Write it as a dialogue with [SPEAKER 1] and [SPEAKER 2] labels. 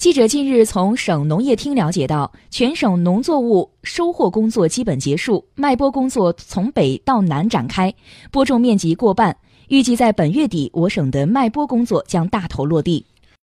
[SPEAKER 1] 记者近日从省农业厅了解到，全省农作物收获工作基本结束，麦播工作从北到南展开，播种面积过半，预计在本月底，我省的麦播工作将大头落地。